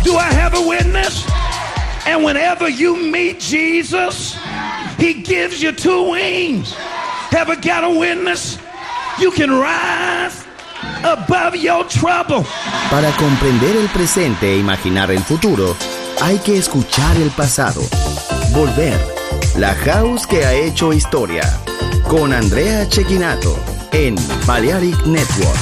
Do I have a witness? And whenever you meet Jesus, he gives you two wings. Ever got a witness? You can rise above your trouble. Para comprender el presente e imaginar el futuro, hay que escuchar el pasado. Volver. La House que ha hecho historia. Con Andrea Cecchinato en Balearic Network.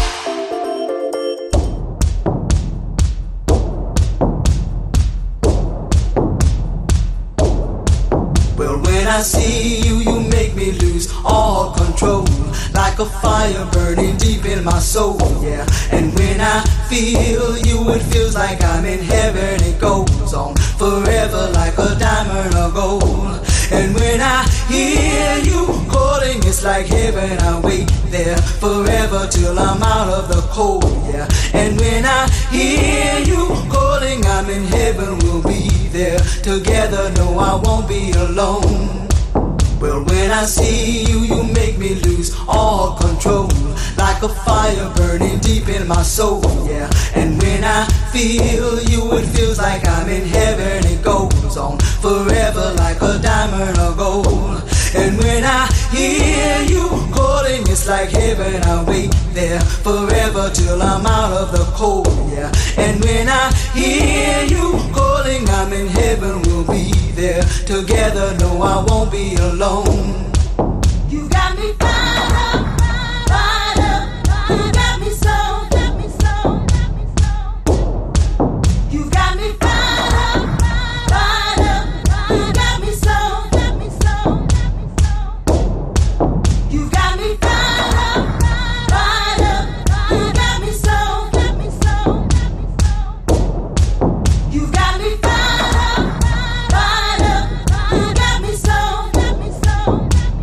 I see you, you make me lose all control. Like a fire burning deep in my soul, yeah. And when I feel you, it feels like I'm in heaven. It goes on forever like a diamond or gold. And when I hear you calling, it's like heaven. I wait there forever till I'm out of the cold, yeah. And when I hear you calling, I'm in heaven. We'll be there together. No, I won't be alone. Well, when I see you, you make me lose all control. Like a fire burning deep in my soul, yeah. And when I feel you, it feels like I'm in heaven. It goes on forever like a diamond or gold. And when I hear you calling, it's like heaven. I wait there forever till I'm out of the cold, yeah. And when I hear you calling, I'm in heaven. We'll be there together. No, I won't be alone. You got me fired up, fired up. You got me so, got me so, got me so. You got me fired up, fired up. You got me so, got me so, got me so. You got me fired up, fired up. You got me so, got me so, got me so. You got me fired up, fired up. You got me so, got me so, got me so.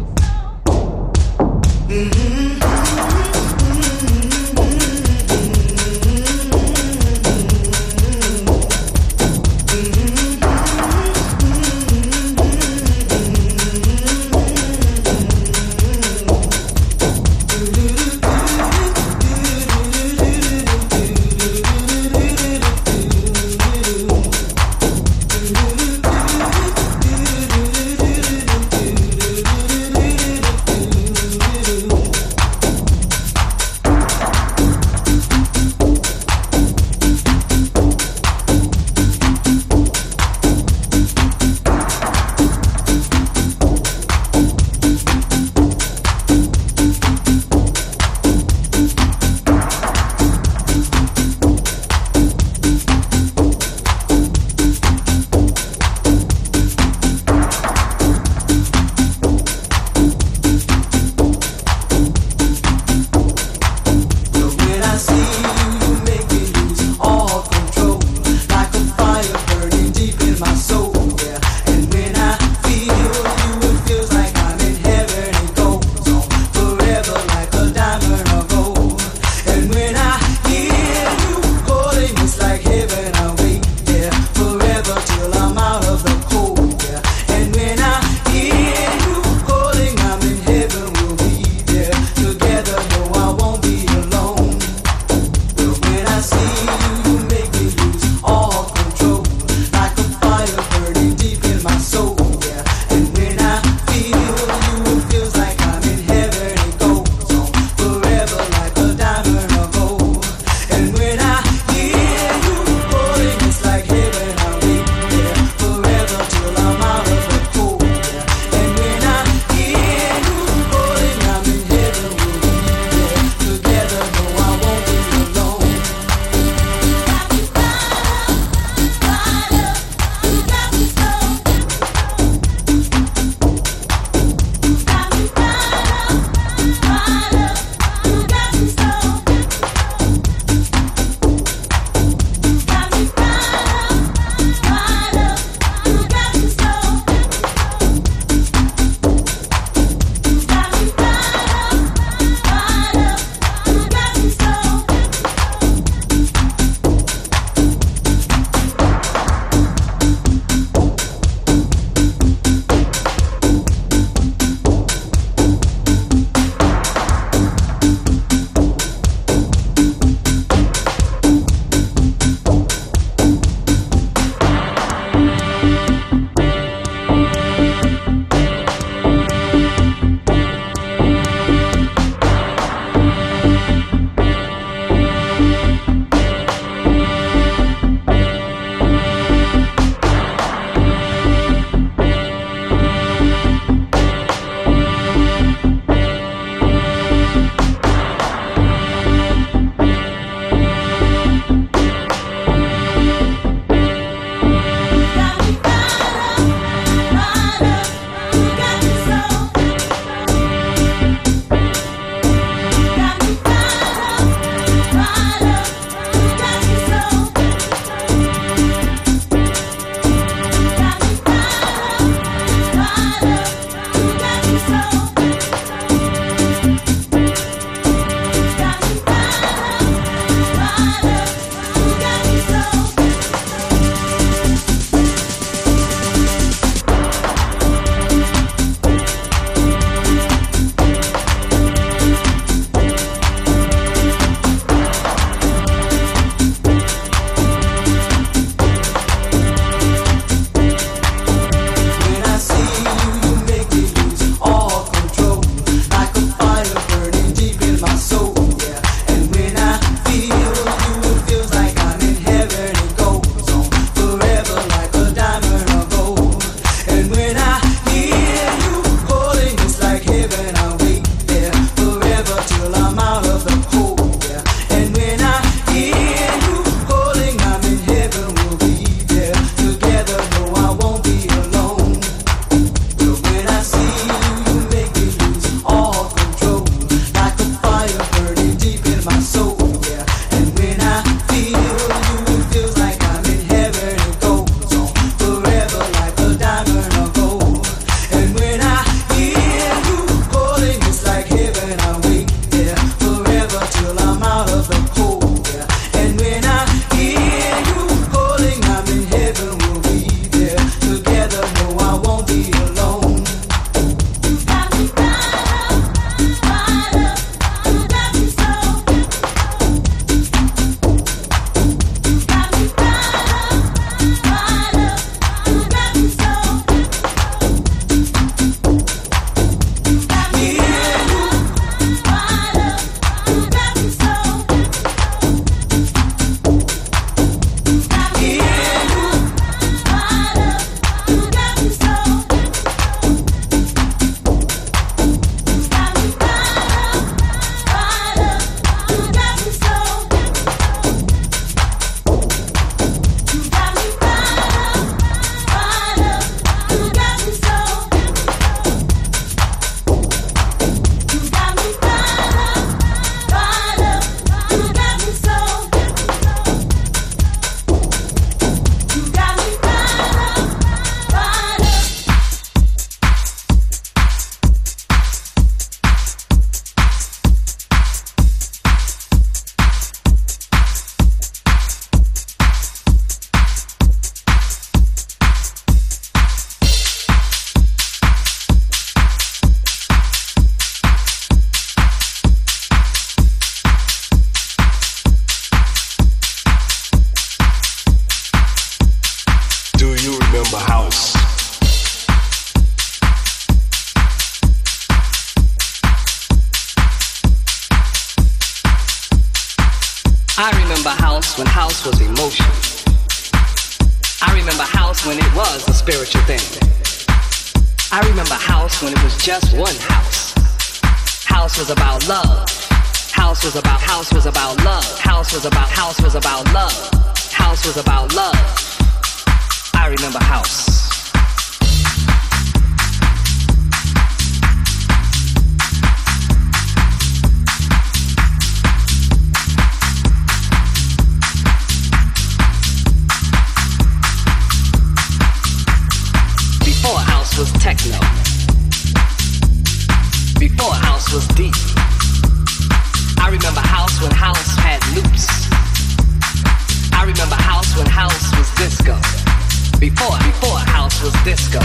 remember house when house was emotion. I remember house when it was a spiritual thing. I remember house when it was just one house. House was about love. House was about love. House was about love. House was about love. I remember house. Before house was techno. Before house was deep. I remember house when house had loops. I remember house when house was disco. Before house was disco.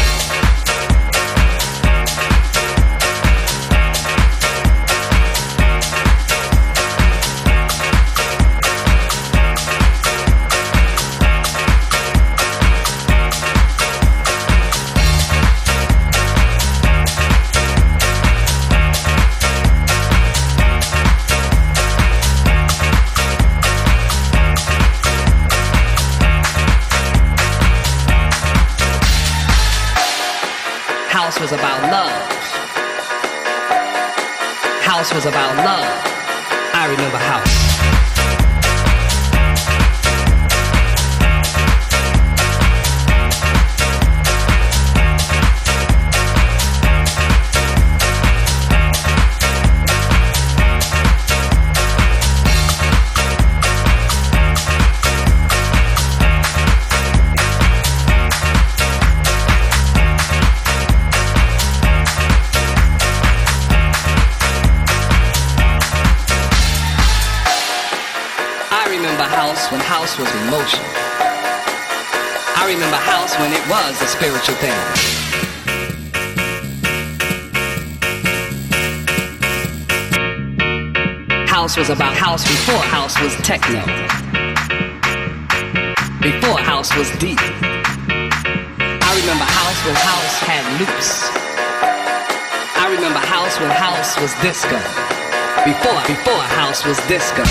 House was about love. House was about love. I remember house. When house was emotion. I remember house when it was a spiritual thing. House was about house before house was techno. Before house was deep. I remember house when house had loops. I remember house when house was disco. Before house was disco.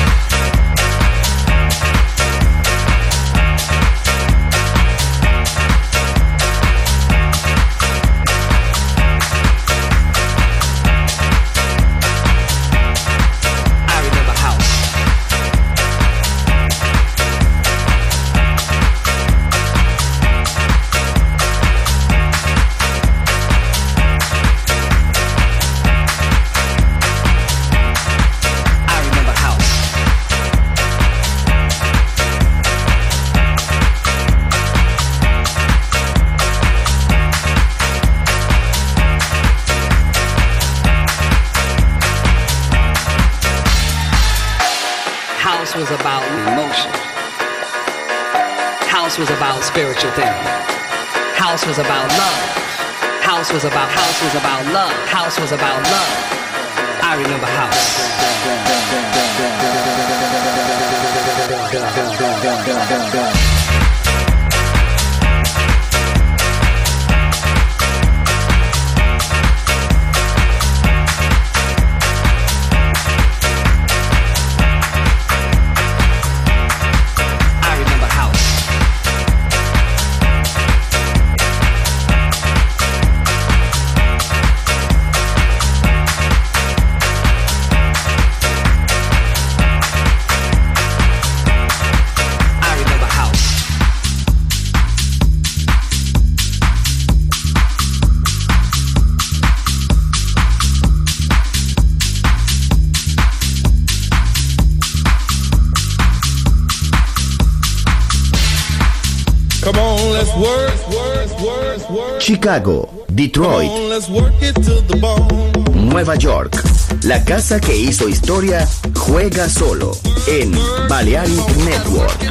Was about emotion. House was about spiritual thing. House was about love. House was about love. House was about love. I remember house. Chicago, Detroit, Nueva York. La casa que hizo historia juega solo en Balearic Network.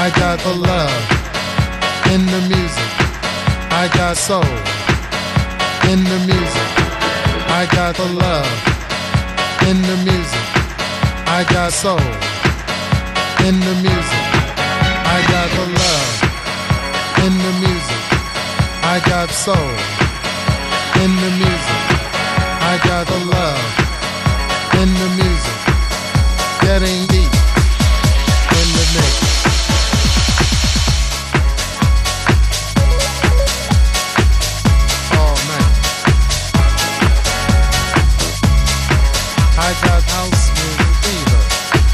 I got the love in the music. I got soul in the music. I got the love in the music. I got soul in the music. I got the love in the music. I got soul in the music. I got the love in the music. Getting deep in the mix. Oh man, I got house music fever.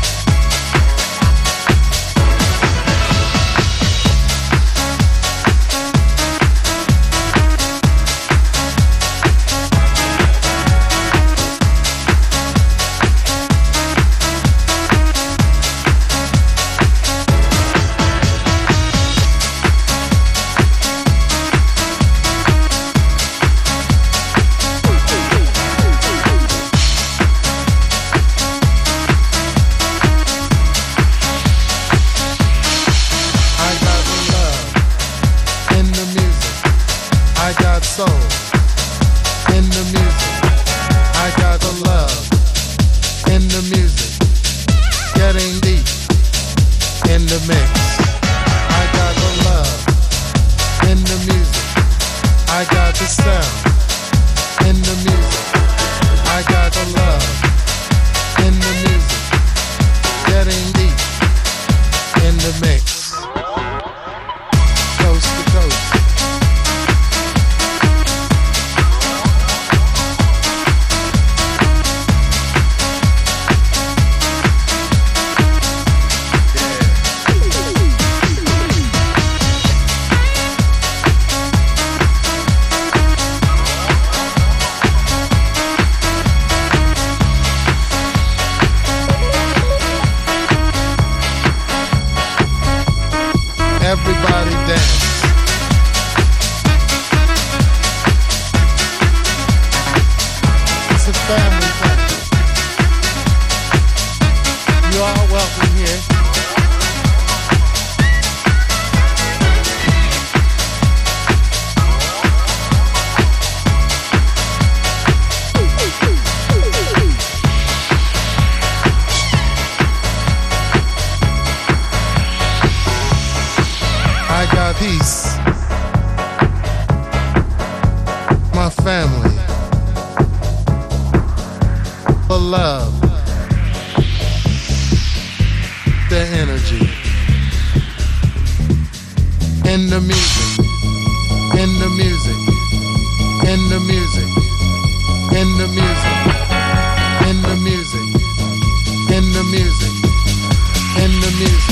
Everybody dance. It's a family thing. You are welcome here. I got peace, my family, the love, the energy, in the music, in the music, in the music, in the music, in the music, in the music, in the music.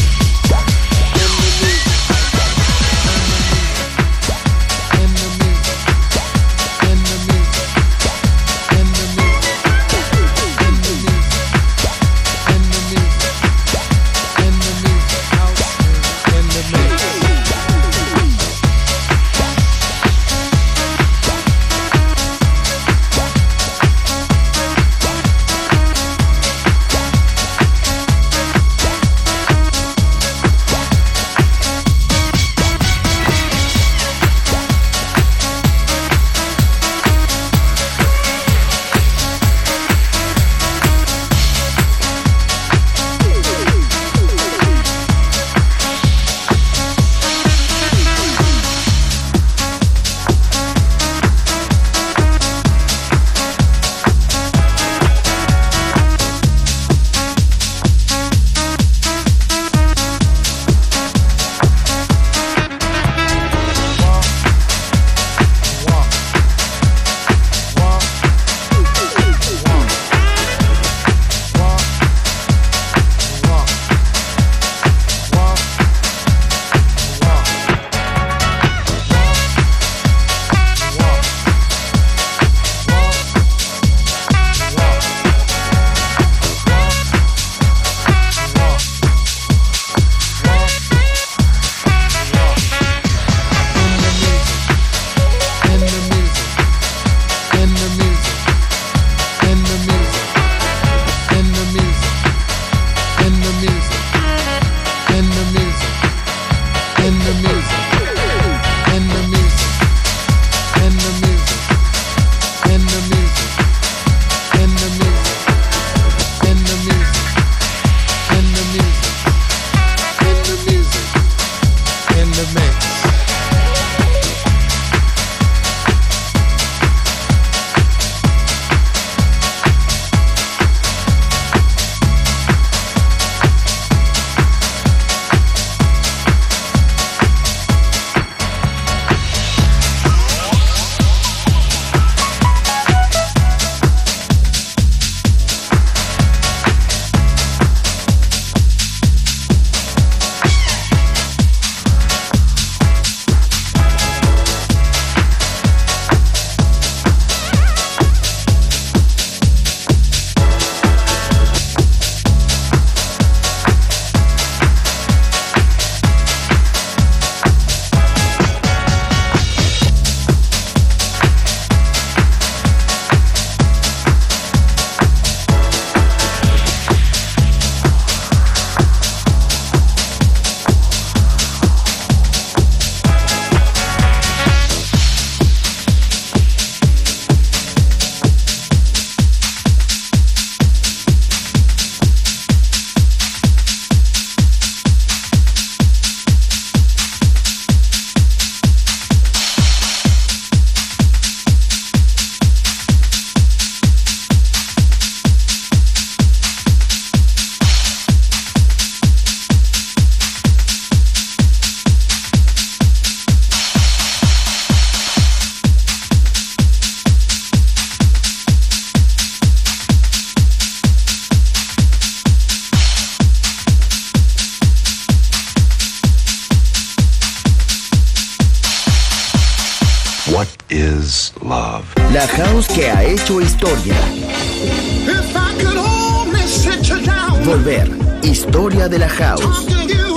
What is love? La house que ha hecho historia. If I could only sit you down. Volver, historia de la house.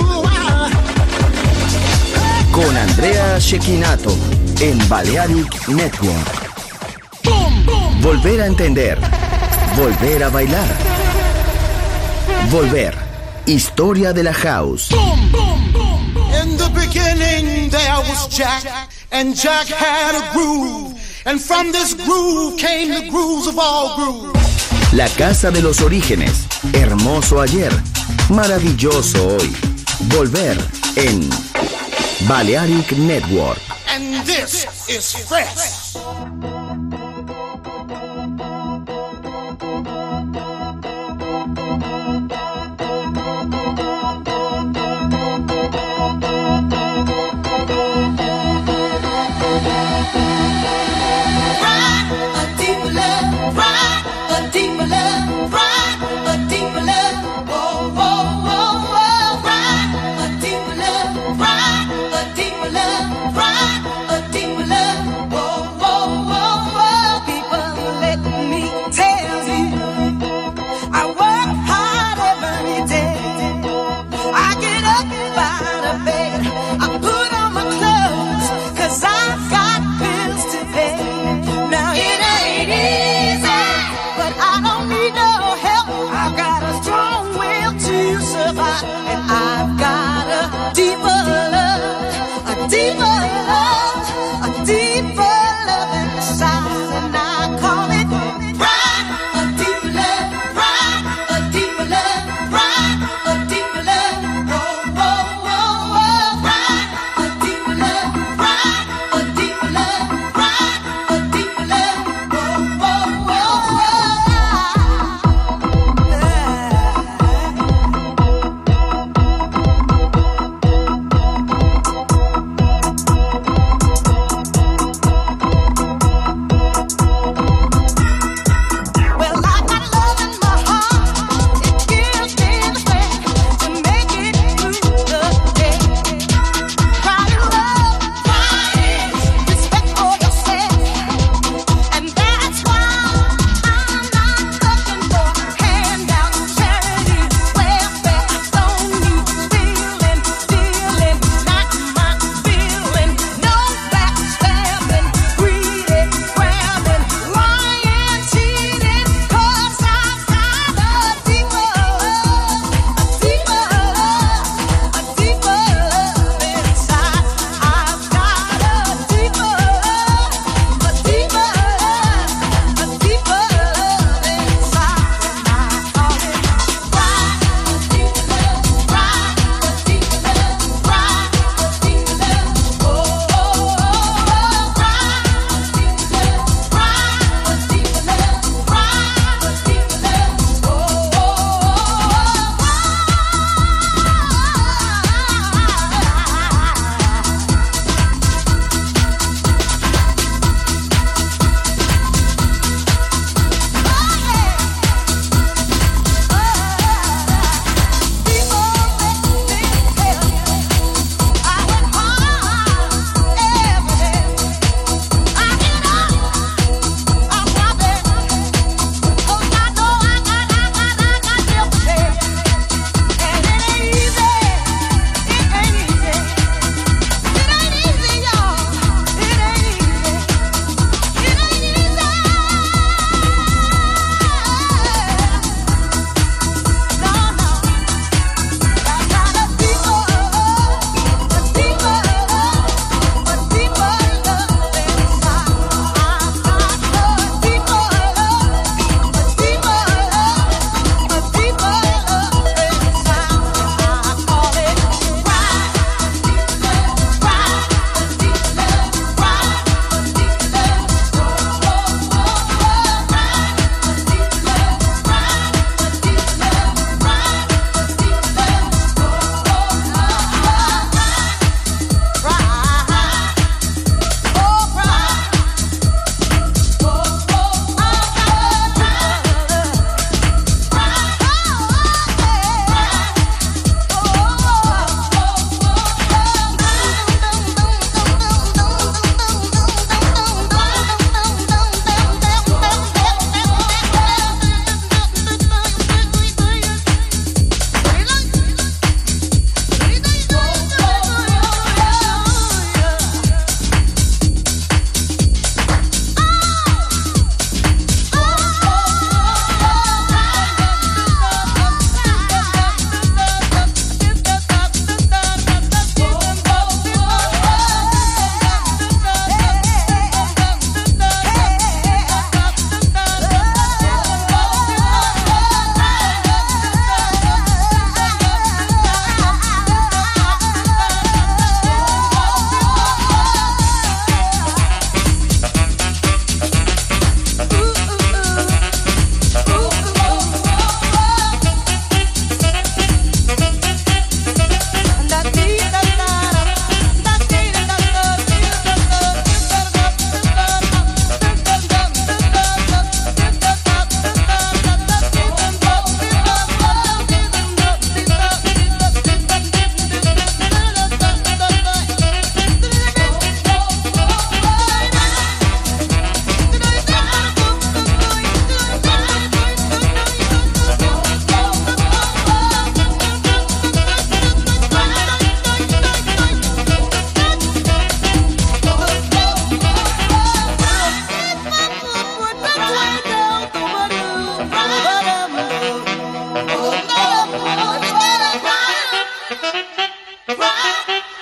Con Andrea Cecchinato en Balearic Network. Volver a entender. Volver a bailar. Volver, historia de la house. In the beginning there was Jack, and Jack had a groove, and from this groove came the grooves of all grooves. La casa de los orígenes, hermoso ayer, maravilloso hoy. Volver en Balearic Network. And this is fresh. Whoa, whoa, whoa.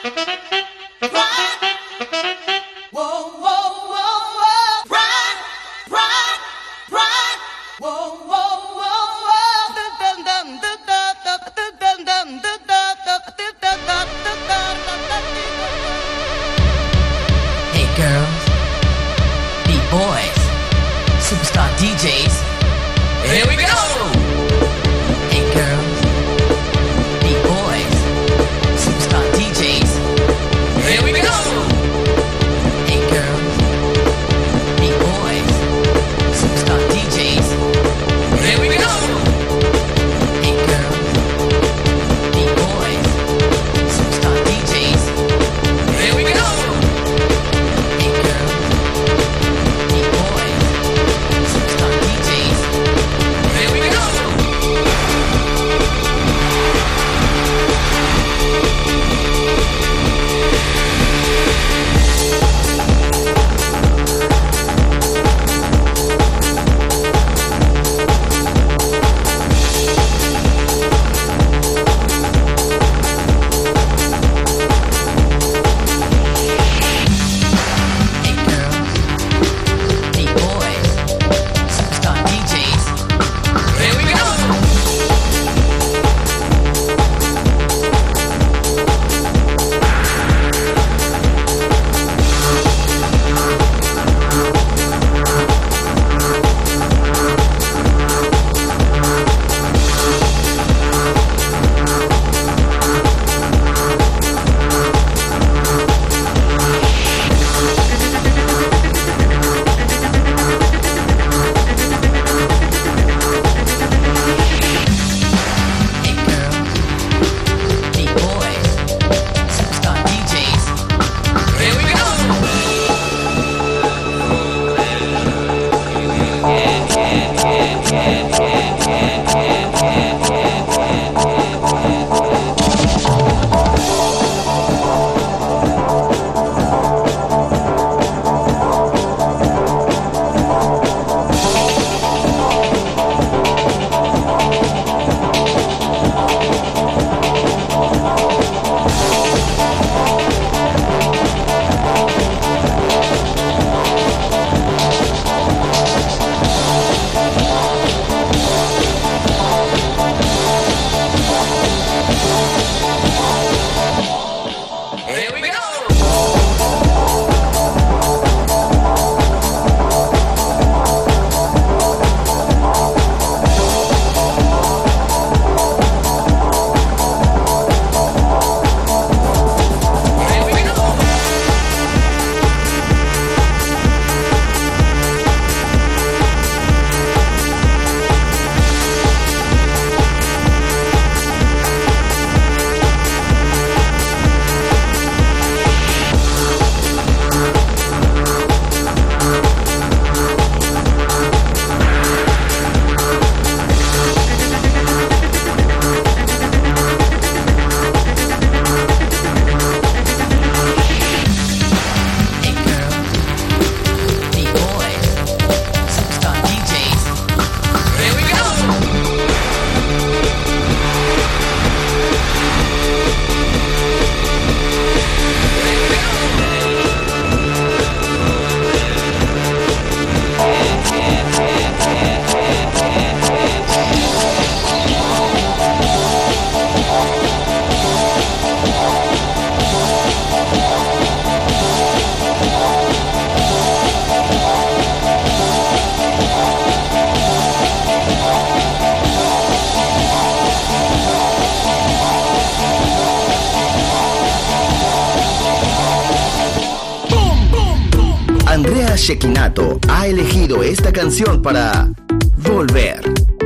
Shekinato ha elegido esta canción para Volver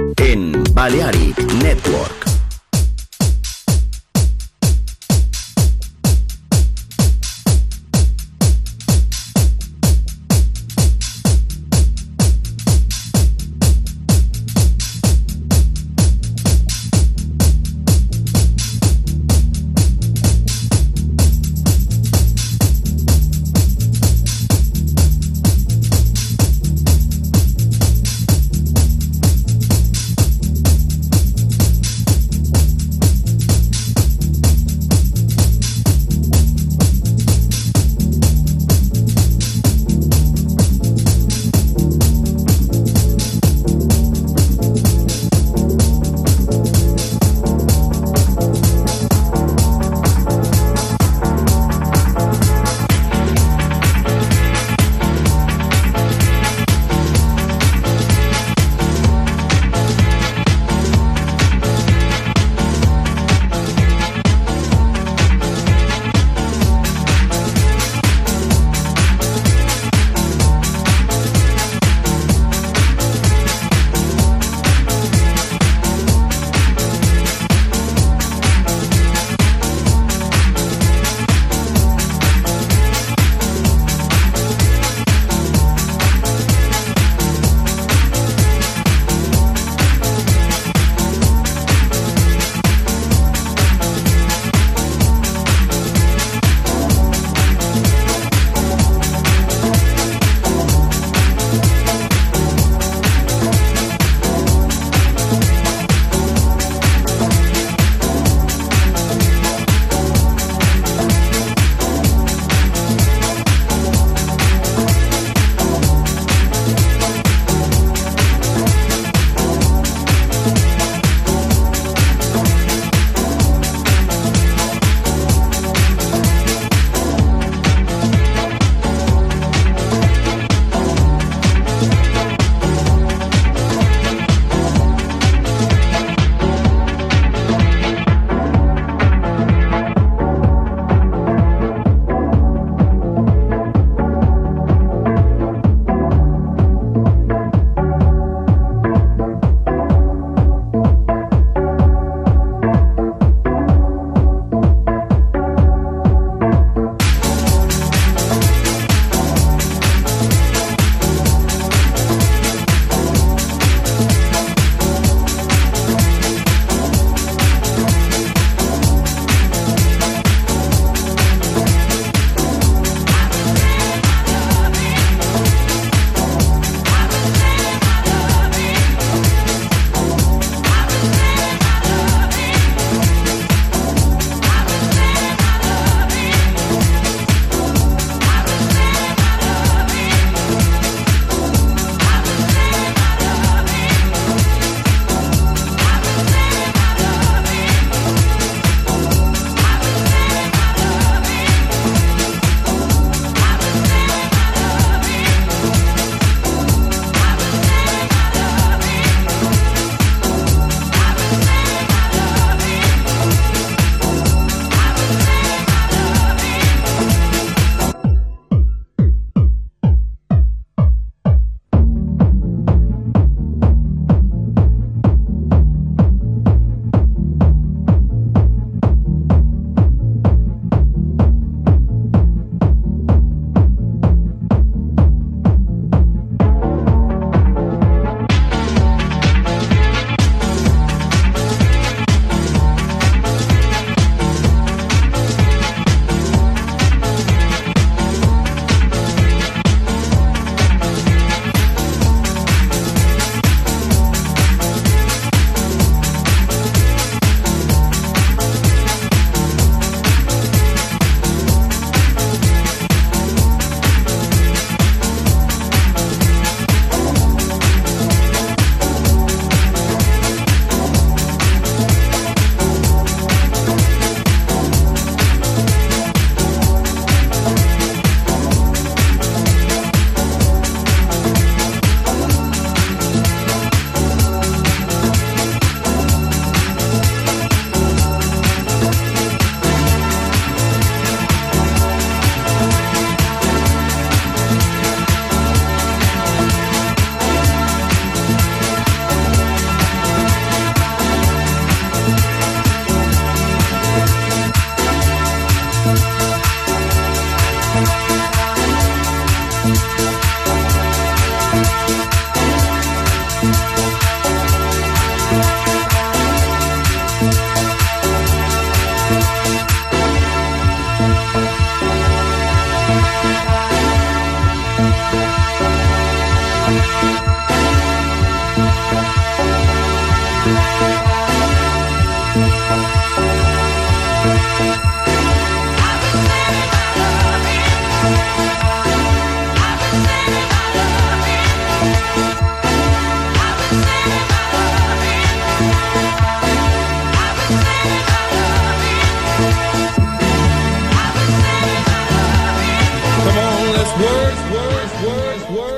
en Balearic Network.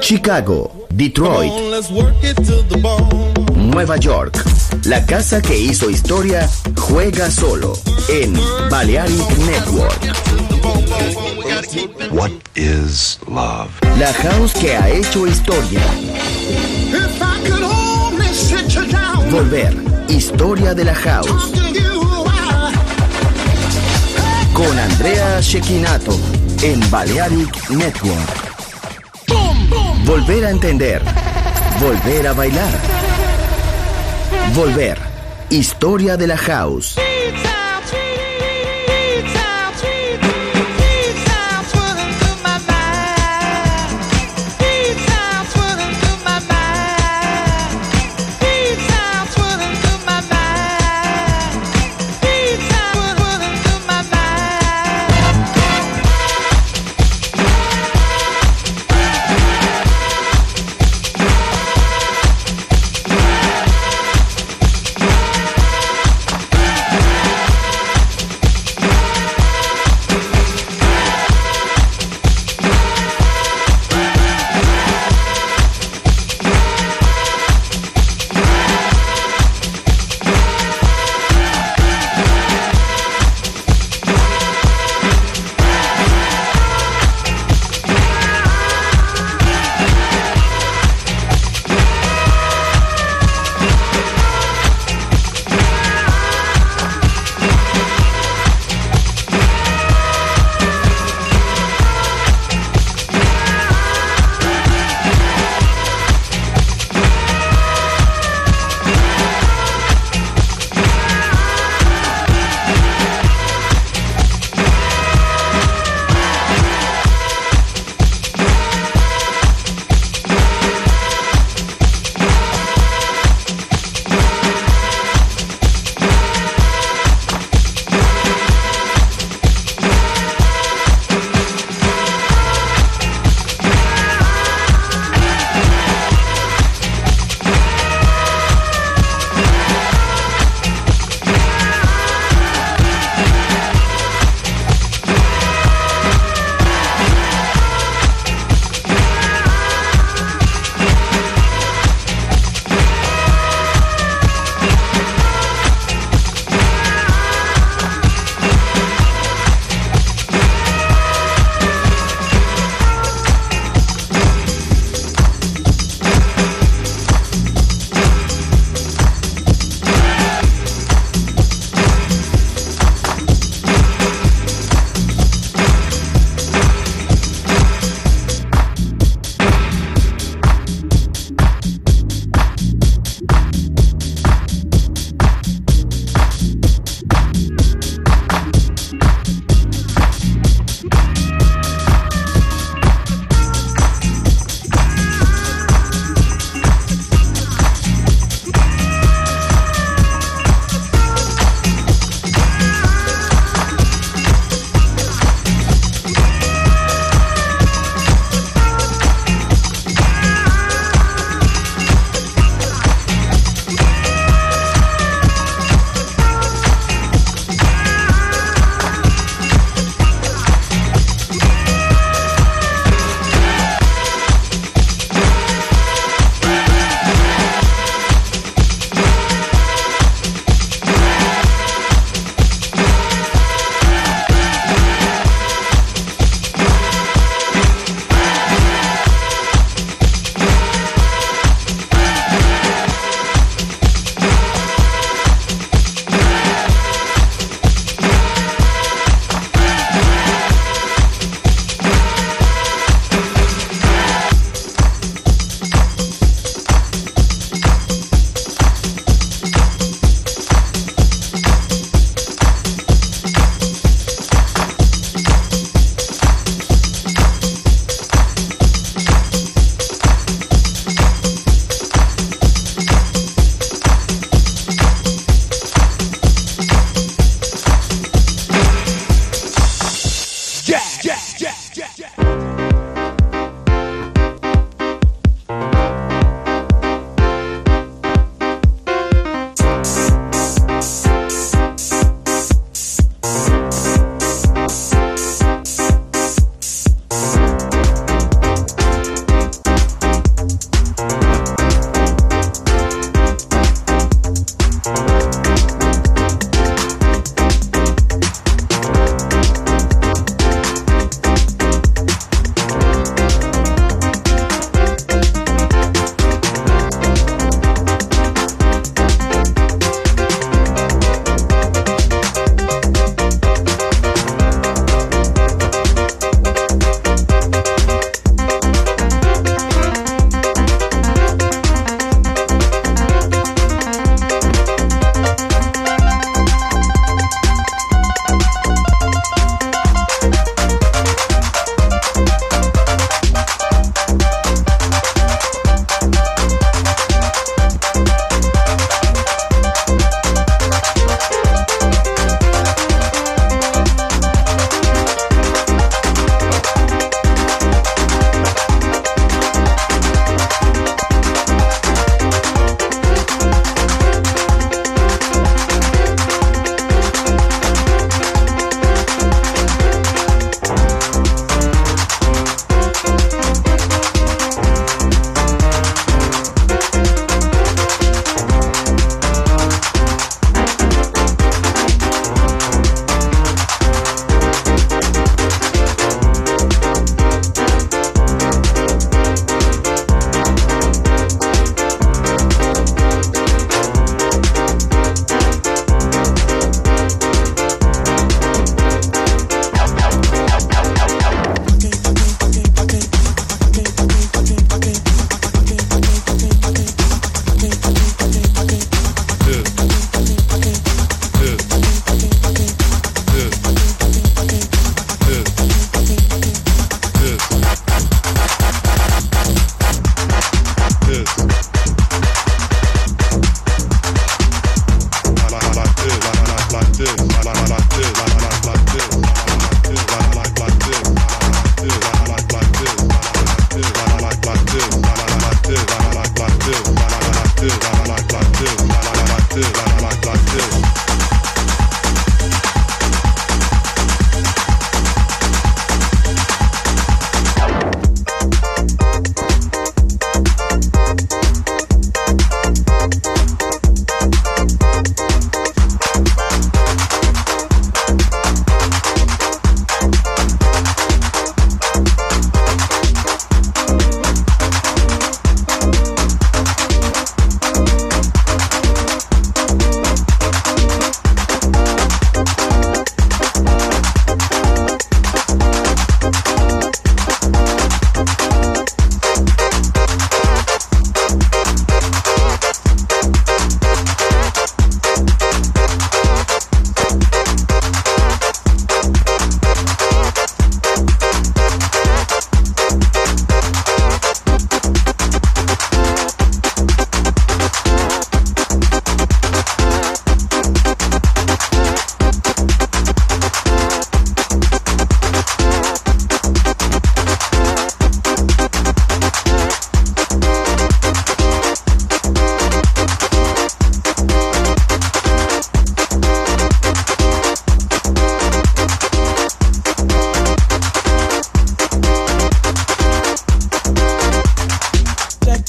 Chicago, Detroit, Nueva York. La casa que hizo historia juega solo en Balearic Network. What is love? La house que ha hecho historia. Volver, historia de la house. Con Andrea Cecchinato en Balearic Network. Volver a entender. Volver a bailar. Volver, historia de la house.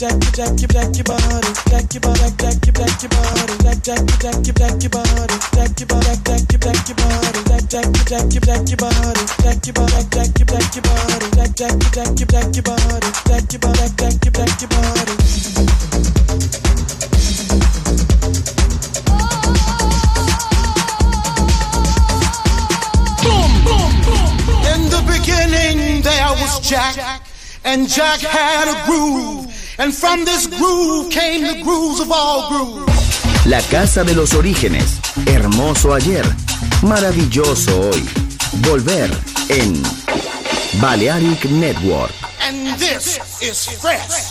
Jack, and Jack had a groove, and from this groove came the grooves of all grooves. La casa de los orígenes, hermoso ayer, maravilloso hoy. Volver en Balearic Network. And this is fresh.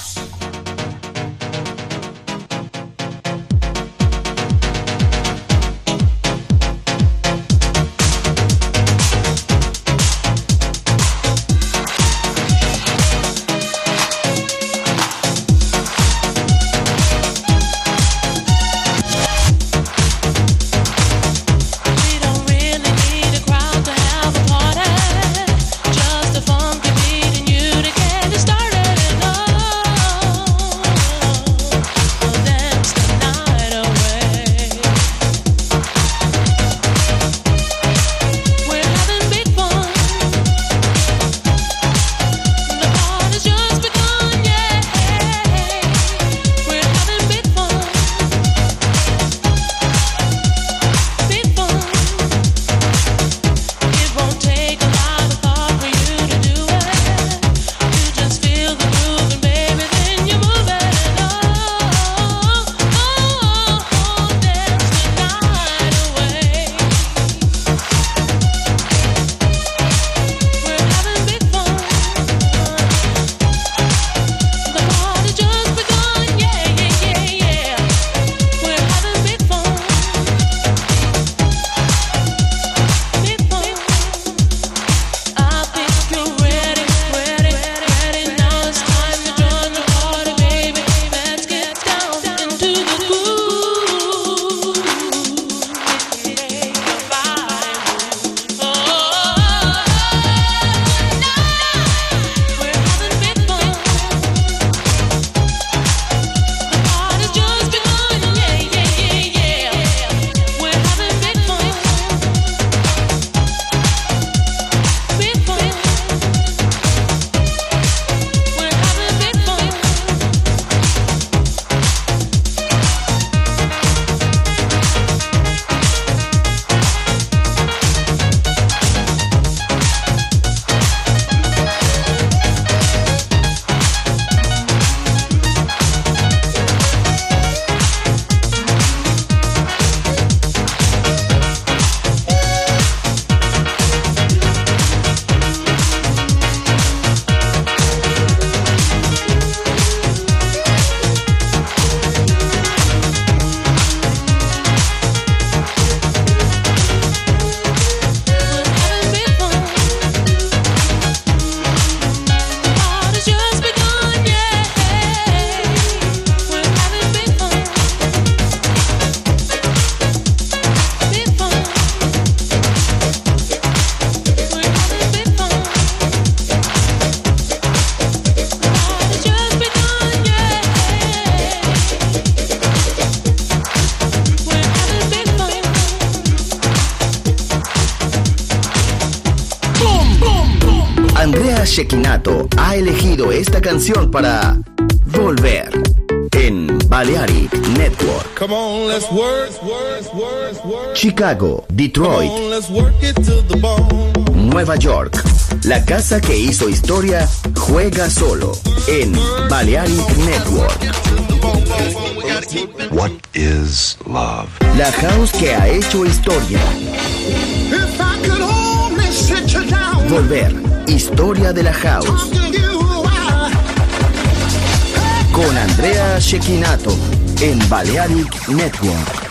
Andrea Cecchinato ha elegido esta canción para Volver en Balearic Network. Come on, let's work. Chicago, Detroit, Come on, let's work it to the bone. Nueva York. La casa que hizo historia juega solo en Balearic Network. What is love? La house que ha hecho historia. If I could only sit you down, Volver, historia de la house. talk to you, Con Andrea Cecchinato en Balearic Network.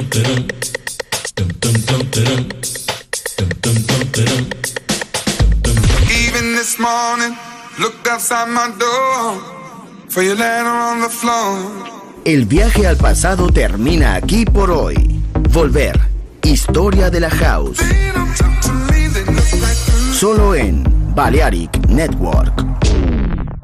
Even this morning, looked outside my door for your letter on the floor. El viaje al pasado termina aquí por hoy. Volver. Historia de la House. Solo en Balearic Network.